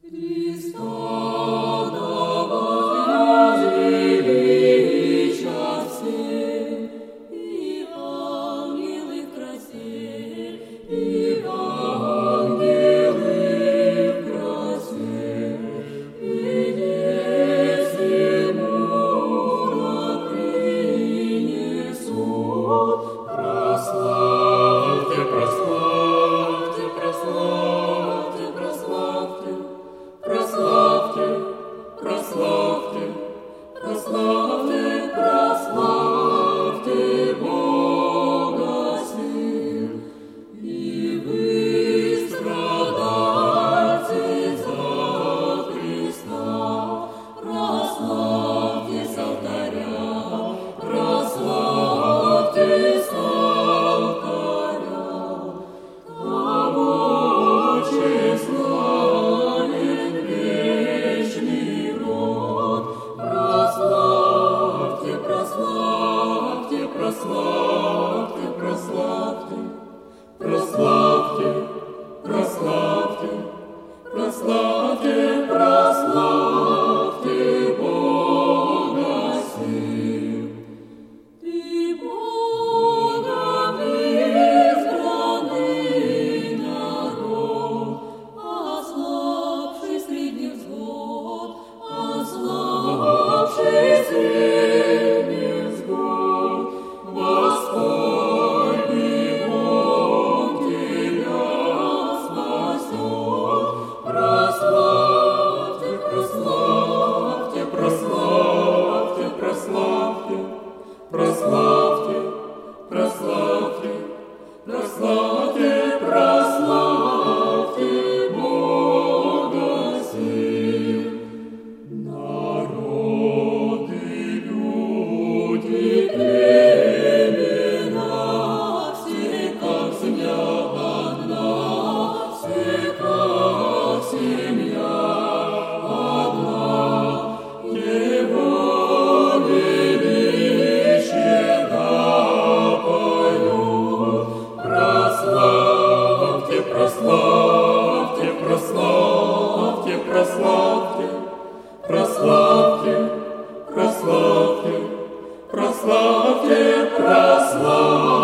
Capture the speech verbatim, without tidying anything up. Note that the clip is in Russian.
Прославьте, прославьте, прославьте, прославьте, прославьте, прославьте, прославьте, прославьте Бога сил. И вы, страдальцы за Христа, прославьте с алтаря, прославьте с алтаря, того тщеславен вечный род. Прославьте, прославьте, прославьте, прославьте, прославьте, прославьте, прославьте, прославьте Бога сил. Ты Богом избранный народ, ослабший средний взвод, ослабший средний взвод, Господний Бог тебя спасет. Прославьте, прославьте, прославьте, прославьте, прославьте, прославьте, прославьте, прославьте Бога сил. Народы, люди, племена, все как семья одна, все как семья одна. Его величие поют. Прославьте, прославьте, прославьте, прославьте, прославьте, прославьте, прославьте, прославьте.